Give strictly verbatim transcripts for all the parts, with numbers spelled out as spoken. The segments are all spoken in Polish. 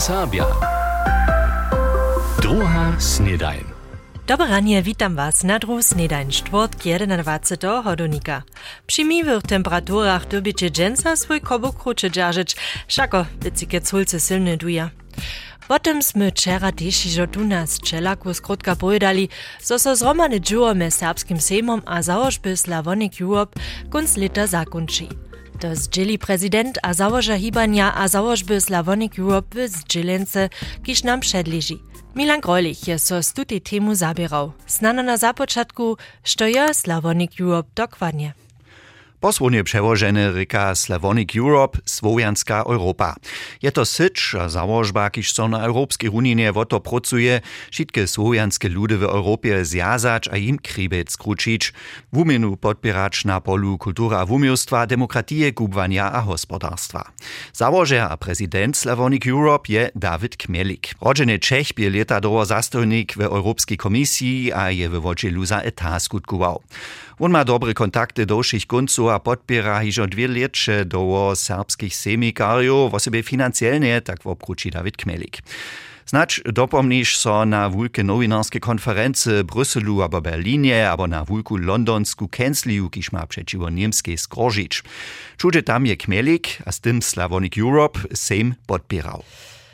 Serbia. Druga snedajn. Dobre ranie, witam was na druhu snedajn, czwartk jedenadvacetego hodonika. Przy miłych temperaturach dobycie dżęsa swój kobuk krucze dzierżyć, szako wycike culce silne duja. Potem sme wczera też iżo tu nas czelaku skrótka pojedali, so so zromane dżuro me serbskim sejmom a założby Slavonic Europe kunc leta zakończy. To zdzieli prezydent a założa hibania a założby Slavonic Europe w zdzielence, kiż nam przedleży. Milan Greulich je so z tutej temu zabierał. Znano na započatku, što je Slavonic Europe dokładnie. Posłownie przełożone ryka Slavonic Europe, Słowianska Europa. Je to syć a założba, kiż so na Europskiej Unii woto pracuje, wszystkie słowianskie ludy w Europie zjazać a im kribec skručić, w umieniu podpierać na polu kultury a wumiostwa, demokratije, kubwania a gospodarstwa. Założer a prezydent Slavonic Europe je David Kmelik. Rodzeny Czech bie leta doło zastojnik w Europskiej Komisji a je w wodzielu za etat skutkował. On ma dobre kontakty do všich konców a podpiera hižo dwie leče do serbskich semikarjów, osobie financielnie, tak wopruči David Kmelik. Znacz dopomnisz so na wulke nowinarskie konferency Brüsselu abo Berlinie, abo na wulku londonsku kęsliju, kiż ma przeciwo niemskiej skrožić. Čude tam je Kmelik, a z tym Slavonic Europe sejm podpierał.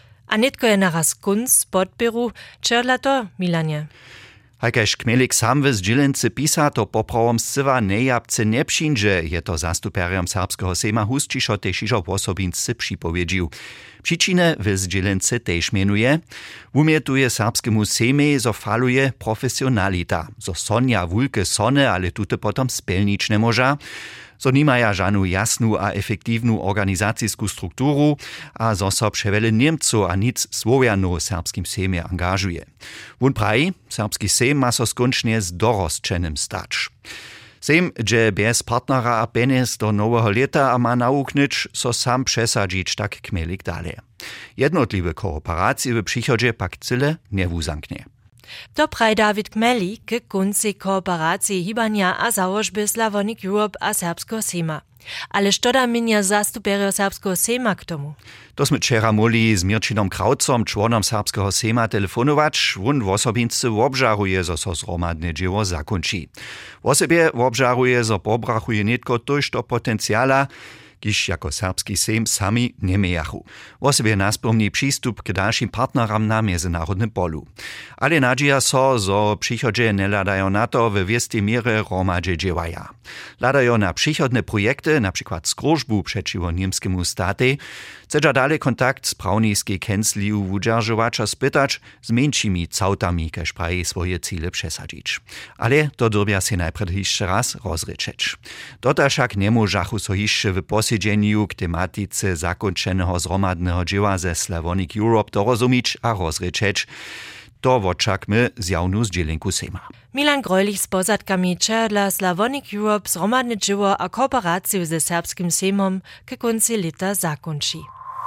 A netko je naraz kunc podpieru, čerla to, Milanie? Hajkaž Kmelik sam w zdzielence pisa, to poprawom scywa nejabce nie przyjdzie, je to zastuperiom serbskiego sejma Husčišo tež ižo posobince připowiedził. Przyczynę w zdzielence tež mienuje, umietuje serbskemu sejmie, zo faluje profesjonalita, zo sonja wulke sone, ale tute potom spelnić nie może, zo nimaja żanu jasnu a efektywnu organizacijsku strukturu, a zo so przewele Niemcu a nic Słowianu serbskim sejmie angażuje. Wun praji, serbski sejm ma so skoncznie z dorosčenym stać. Sejm, że bez partnera a penes do nowego leta a ma nauknyć, so sam przesadzić tak Kmelik dalej. Jednotliwe kooperacje w przychodzie pak cyle nie wuzanknie. To praj David Kmelik k kunci kooperacji hibania a założby Slavonic Europe a serbskiego sejma. Ale što da minja zastuperio serbskiego sejma k tomu? To sme wczera moli z Mirčinom Kraucom, członom serbskiego sejma, telefonować. On w osobince obżaruje, zo so zromadne dzieło zakończy. W osobie obżaruje, zo pobrachuje netko toż do potencjala, kiż jako serbski sejm sami nie mejachu. W osobie naspomni przystup k dalszym partneram na międzynarodnym polu. Ale nadzieja so, zo przychodzie nie ladają na to w wiestej mierze romadzie dziewaja. Ladają na przychodne projekty, na przykład skrużbu przeciwo niemskiemu staty, chcedza dalej kontakt z prawniskiej kęsliju wudzierżowacza spytać, z mniejszymi cautami, każ praje swoje cele przesadzić. Ale to dorbia się najpierw jeszcze raz rozryczeć. Dota však nie możachu so jeszcze w posiedzeniu k tematice zakończonego zromadnego dzieła ze Slavonic Europe dorozumieć a rozryczeć. To wočakmy zjawnu zdzielenku sejma. Milan Greulich z pozadkami czerla Slavonic Europe zromadne dzieło a kooperację ze serbskim sejmom k konci leta zakończy.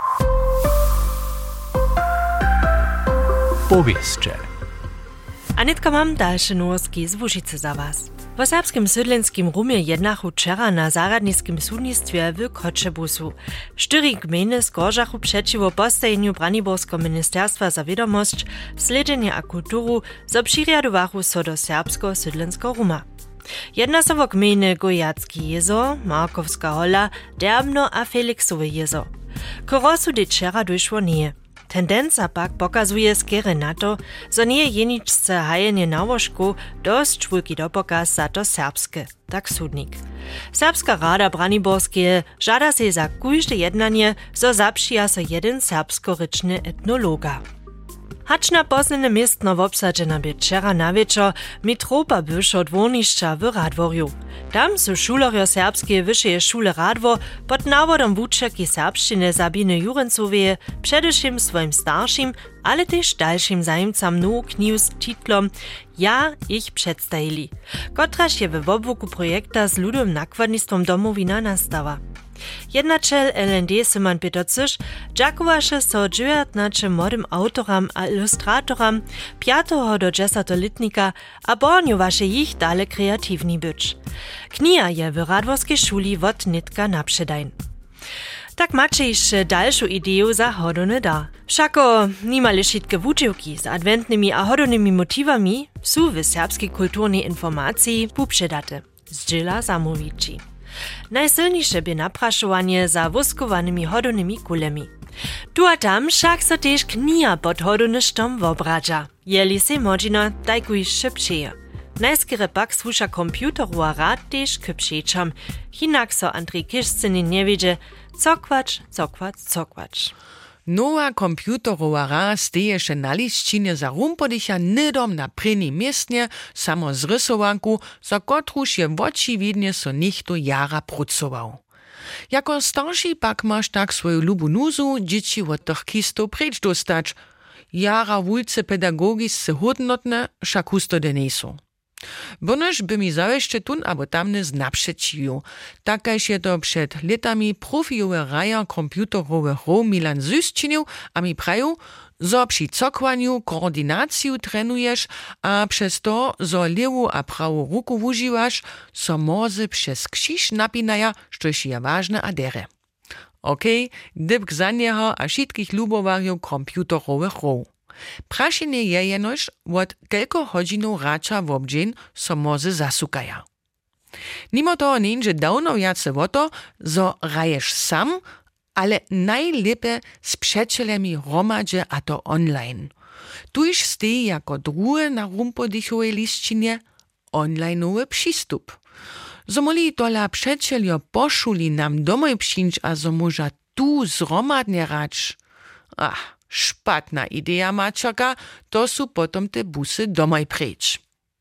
Powieszcze. Anetka mam dalsze nowosti z Łužice za was. W serbskim sydlenskim rumie jednachu wczera na zaradniskim sudnictwie w Kotzebusu. Cztery gminy skorżachu przeciwo postajeniu Braniborskiego Ministerstwa za Wiadomość, Sledzenje a Kulturu zobširjadowachu so do serbskiego sydlenskiego ruma. Jedna so wo gminy Gojacki jezo, Markowska hola, Derbno a Felixowe jezo. Korosu de wczera došło nie. Tendenca pak pokazuje skiery na to, zo nie jeničce hajenie na łożku dość wielki dopokaz za to serbskie, tak sudnik. Serbska rada Braniborskie żada się za każde jednanie, zo zapšija so jeden serbsko-ryczny etnologa. Hacz na poznane miestno wobsadzena by wczera na wieczor mitropa bywszo dwornišća w Radworju. Tam su šulerjo serbskie wyższe szule Radwor pod nawodom wučerki serbszczyny Sabine Jurencowie przedewším swoim starszym, ale też dalszym zajemcam nowu knihu z titlom Ja ich przedstawili, kotraż je w obwoku projekta z ludowym nakładnictwom Domowina nastawa. Jednačel L N D Simon Peter Cyš džakovaše so dziewiętnaście młodym autoram a ilustratoram piątego do dziesiątego letnika a bornjowaše ich dale kreatywni być. Kniha je w Radworskiej szuli wot nitka napředajn. Tak macie jeszcze dalszą ideę za hodony da. Wszako nimale wszystkie wuczywki z adwentnymi a hodonymi motywami są w serbskiej kulturnej informacji poprzedate. Zdziela Zamowici. Najsilniejsze by napraszowanie za woskowanymi hodonymi kulemi. Tu a tam však so tež knija pod hodonyštom wobradza. Jeli se možino tajkuj szybciej. Najskere pak słuša komputerova rad tež k pšečam. Hinak so Andrej Kišcini nie wiedzie, cokvacz, cokvacz, cokvacz. Nowa komputerova rad steje še na liščine za rumpodicha nidom na preni miestnie, samo z rysowanku, za kotruž je očividnie so nichto jara prucował. Jako starší pak masz tak swoju lubu nuzu, dzieci od tych kistów precz dostać. Jara wulce pedagogisce hodnotne, však husto denesu. Bonož by mi zaweszcze tun abo tamne znaprzecił. Takajż je to przed latami profijowe raja komputerowe hro Milan Zus činil, a mi praju, zo przy cokwanju koordinaciju trenujesz, a przez to, zo lewu a prawu ruku używasz, so mozy przez krzyż napinaja, štož je ważne a dere. Okej, okay, dybk za nieho a wszystkich lubowarjów komputerowych hro. Prašenie je jenož, od kelko hodzinów rača v obdźeń so mozy zasukaja. Nimo toho nieńže dawno jace o to, zo raješ sam, ale najlepe z přećelemi hromadže a to online. Tuž steji jako druhe na rumpodichowej liščinie onlineowy przystup. Zo moli tola přećeljo pošuli nam domoj přińć a zo moža tu zromadnie rać. Ach, špatna idea, mačaka, to su potom te busy domaj preč.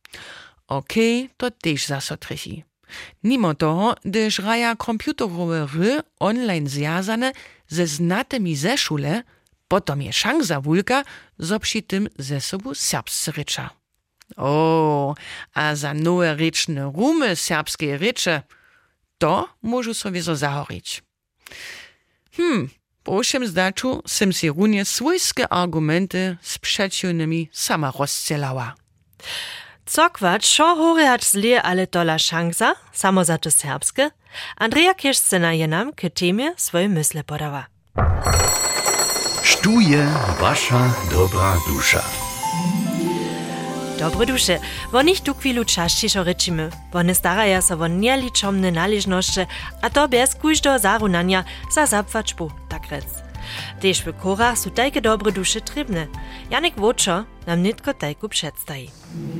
Okej, okay, to tež zaso trefi. Nimo toho, gdyż raja komputerowe ry online zjazane ze znatymi ze szule, potom je szansa wulka, zo przy tym ze sobu serbscy rycza. O, a za nowe ryczne rumy serbskie rycze, to możu sobie zo zahorić. Hmm, po všem zdaču sem si runje svojske argumenty z przeciwnymi sama rozcelała. Cokvacz, šo horeač zlije, ale tola šansa, samo za to serbske, Andreja Kišcina je nam k temie svoje mysle podawa. Štuje wasza dobra dusza. Dobre duše, wo nicht tu chwilu čašćišo rečimy. One staraja so wo nieličomne naležnošće, a to bez kujždo zarunanja za zapvačbu, tak rec. Tež v korach su tajke dobre duše trebne. Janek Vočo nam nitko tajku předstají.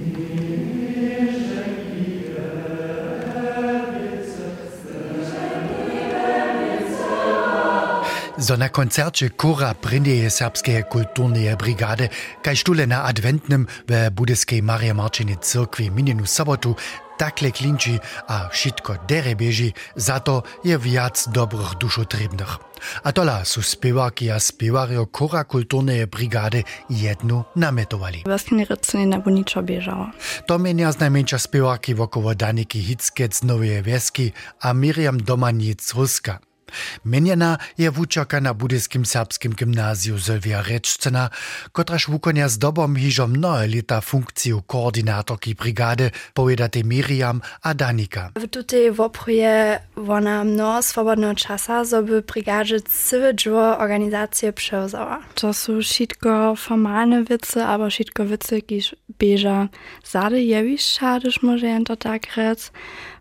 So na koncercie Chora Prindeje Serbskeje kulturneje brigade, kaj štule na adventnym w budyskiej Marije Marčiny cyrkwi minjenu sobotu, takle klinči a všetko dere bieži, za to je viac dobrych dušotribnych. A tola su spěwarki a spěwarjo Chora kulturneje brigady jednu nametovali. Vlastne rycenie na ničo biežalo. To menia znajmenšia spěwarki wokoło Daniky Hickec z Nowej Wieski a Miriam Domanic Ruska. Menjena je wučerka na budyskim serbskim gymnazju Sylwia Rečcena, kotraž wukonja z dobom hižo mnohe leta funkciju koordinatorki brigady, povedate Miriam a Danika. W tutej wopruje ona mnoho swobodnego czasa, żeby brigadzie całe dżło organizację przełzała. To są wszystko formalne wice, aber wszystko wice, kiż bieża zady jewisz szadysz, może jen to tak rec.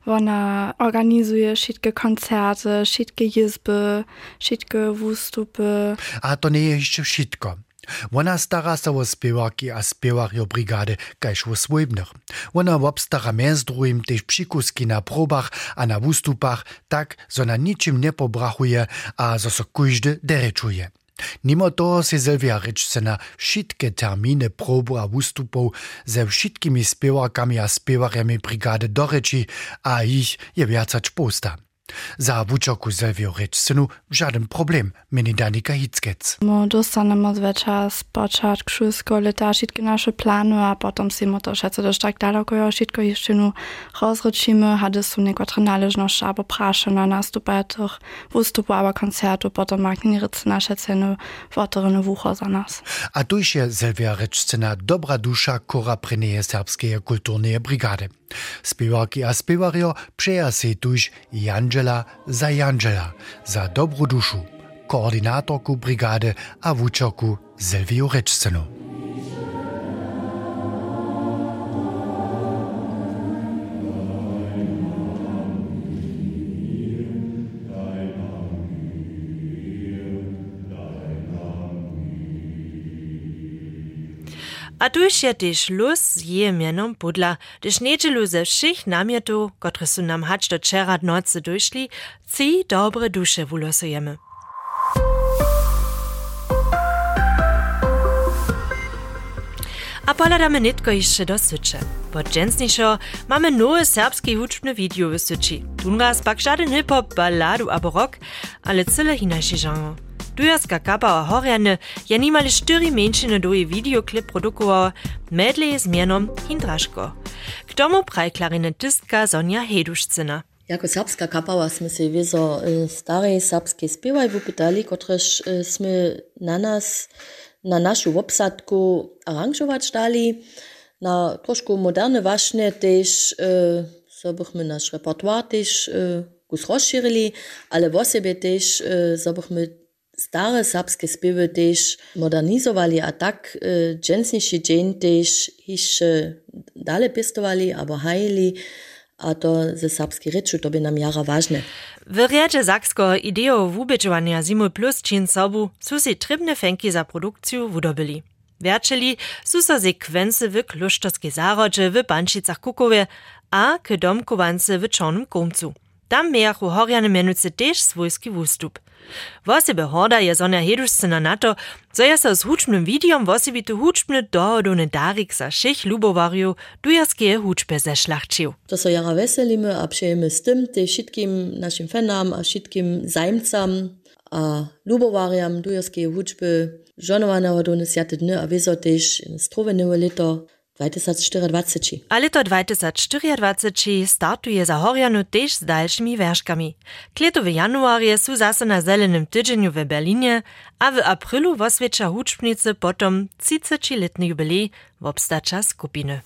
Ona organizuje wszystkie koncerty, wszystkie jizby, wszystkie wystupy. A to nie jest jeszcze wszystko. Ona stara się o spěwarki a spěwarjo brigady, kajż o swojbnych. Ona obstara między drugim też przykuski na probach a na wystupach, tak, że na niczym nie pobrachuje, a że so każdy derečuje. Mimo toho se Sylwia Rečcena wszystkie terminy probu a wystupów ze wszystkimi spěwarkami a spěwarjami brigady doreči, a ich je viacač posta. Za wučerku Sylwiu Rečcenu żaden problem, meni Danika Hickec. My dostanemy zwyczaj z początku szkolskiego lata wszystkie nasze plany, a potem si my to wszyscy dość tak daleko wszystko jeszcze nu rozrzucimy, hady są niektóre należności albo prasze na nastupach tych wystupów albo koncertów, potem magnie rycy nasze ceny wotoryny wucho za nas. A tu je Sylwia Rečcena dobra dusza Chora Prindeje Serbskeje kulturneje brigady. Spěwarki a spěwarjo přeja se tuž Janže Angela Zajanžela za dobru dušu, koordynatorku brigady a wučerku Silviu Rečcenu. A tuż je też luz z jej mianom podla, gdyż niedzielu ze všich namietów, które są nam hać do czera nocy doszli, ci dobre dusze wulosujemy. A poladamy nitko jeszcze do Sycze. Pod dżęsniejszo mamy nowe serbskie huczbne video w Syczy. Tunraz pak żaden hip-hop, balladu abo rock, ale cyle inaczej genre. Dujarska kapa o Horjane je nimali štyri menšiny do jej videoklip produkoval medley z mienom Hindraško. K tomu praj klarinetystka Sonja Hedušcina. Jako serbska kapała sme się wiezo starej serbskiej spiewaj wypytali, kotreż sme na nas, na naszą obsadku aranżować dali, na troszkę moderne właśnie też, so bychmy nasz repertoar też kus rozširili, ale w sobie też, so bychmy stare serbskie spiewy też modernizowali, a tak e, dżęsniejszy dzień też jeszcze dalej pistowali, albo hajili, a to ze serbskiej ryczu to by nam jara ważne. W riedzie Saksko ideo wubeczowania Zimu Plus czyn sobu su si trybne fenki za produkcję wudobili. Wierczyli su so sekwency w Klusztorskiej Zarodzie w Banšicach Kukowie, a k domkowance w Czornym Komcu. Tam miachu Horjane mianuce też swojski wustup. Wosebe horda je Sonja Hedušcina na to, co je so z hučbnym videom wosibitu hučbny dohodowny darik za všich lubowarju dujarskie hučbe zešlachčił. To so jara veselimy a přejemy z tym te wszystkim naszym fanam a wszystkim zajmcam a lubowarjam dujarskie hučby żonowanego do nesjate dny a wieso też strovenewe lito dwa tysiące cztery. A lito dwa tysiące cztery startuje za Horjanu też z dalszymi wierszkami. Kleto w januarze su zase na Zelenym tydzieniu w Berlinie, a w aprilu woswiecza hučbnicy potom trzydziestoletny jubilej w obstacza skupiny.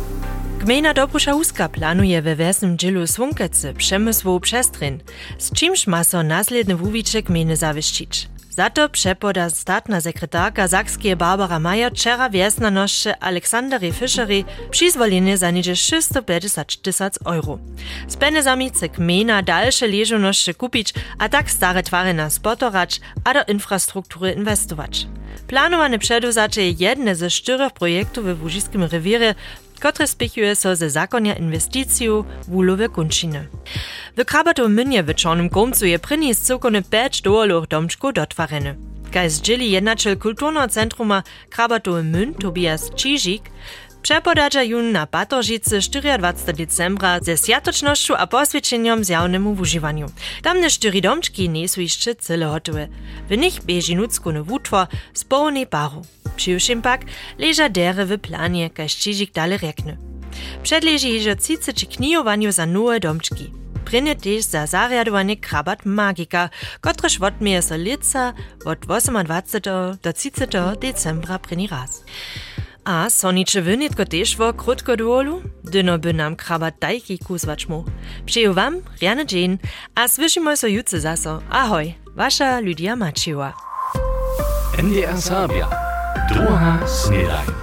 Gmina Dobrusza Huska planuje we wesnym dzielu Słonkecy przemysłową przestrzeń, z czymś ma so následne wuwicze gminy zawieszczyć. Za to przepoda statna sekretarka Sakskie Barbara Majer wczera wiesnanošće Aleksandrej Fischerej przyzwolenie za niedzie šesto pedeset tysięcy euro. Z penezami chce gmina dalsze leżonošće kupić, a tak stare twary na spotorać, a do infrastruktury inwestować. Planowane przeduzacze je jedne ze czterech projektów w Łužiskim rewirze, które spichuje so ze zakonia inwestyciju w ulowe kunčiny. W Krabatowym Młynie w Czornym Komcu je pryni z cokone pięć dołolowych domczków dotwarene. Kaj zdzieli jednačel kulturного centruma Krabatowy Młyn Tobias Čižík, przepodadza jun na Batoržice dwudziestego czwartego decembra ze sjatočnošću a poswieczeniem zjawnemu wużywaniu. Tamne štyri domczki nie są jeszcze cyle hotowe. W nich bieži nuckony wutwor z połnej paru. Přiwšim pak leża dere w planie, kaj Čižík dalej rekne. Przedleży jeżo trzydzieści knijowaniu za nowe domczki. Prynie też za zariadowanie Krabat Magika, kotreż wotmieje so lica od dwudziestego ósmego do trzydziestego decembra pryni raz. A sonicze wynitko też wo krótko duolu, dyno by nam Krabat dajki kuzwać mu. Přeju wam riany dzień, a słyszymy so jutce zaso. Ahoj, wasza Lydia Maciła. N D R Serbia. Druga snedaj.